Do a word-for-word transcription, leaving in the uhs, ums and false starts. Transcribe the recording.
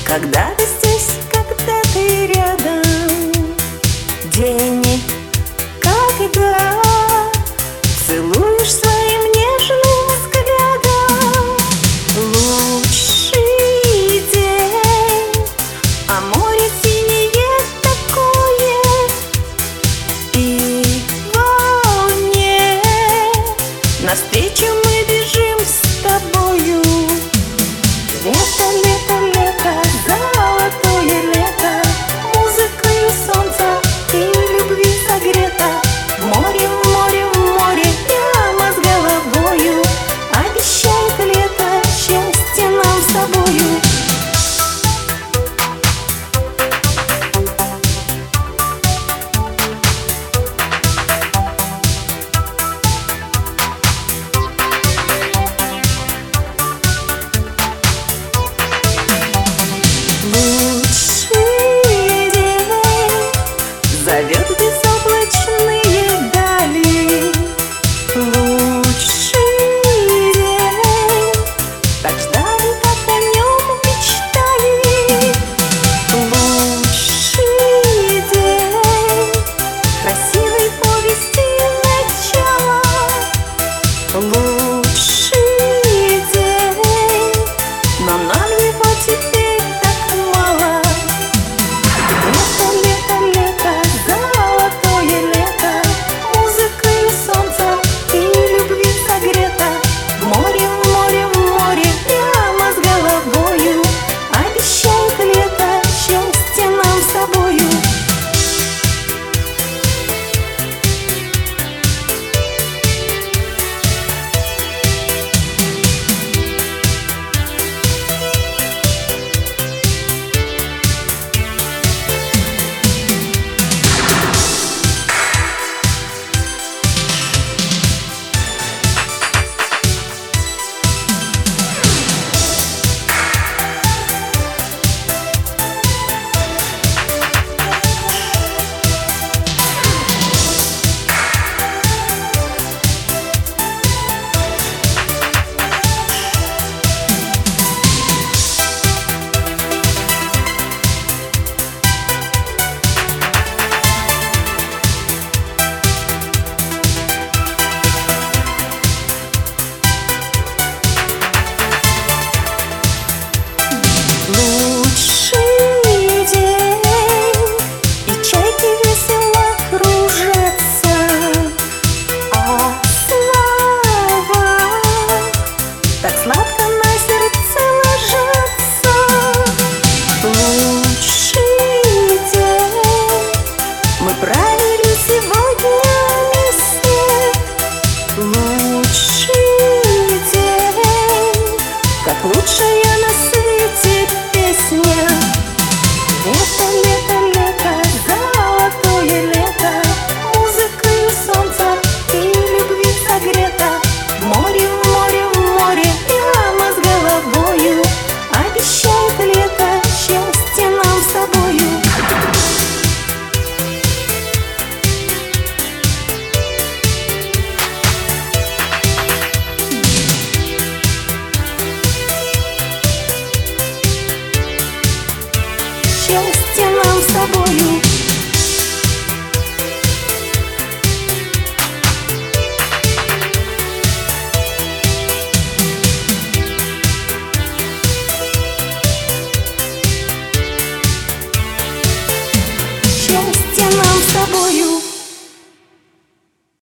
Когда ты здесь, когда ты рядом, день, когда целуешь своим нежным взглядом. Лучший день, а море синее такое, и волне навстречу мы бежим с тобою. Лето, лето, лето, золотое лето, музыкою солнца и любви согрето. Море, море, море, прямо с головою обещает лето счастье нам с тобою. Лучший день зовет безоблачные дали. Лучший день, так ждали, так о нем мечтали. Лучший день, красивой повести начало. Лучший день, но нам его теперь так мало. Лето, лето, лето, золотое лето, музыкою солнца и любви согрето. Море, море, море, прямо с головою обещает лето счастье нам с тобою. Лучший день, и чайки весело кружатся, а слова так сладко на сердце ложатся. Лучший день, мы провели сегодня вместе. Лучший день, как лучшая на свете песня. Лето, лето, лето, золотое лето, музыкою солнца и любви согрето. Море, море, море, прямо с головою обещает лето счастье нам с тобою. Счастье нам с тобою.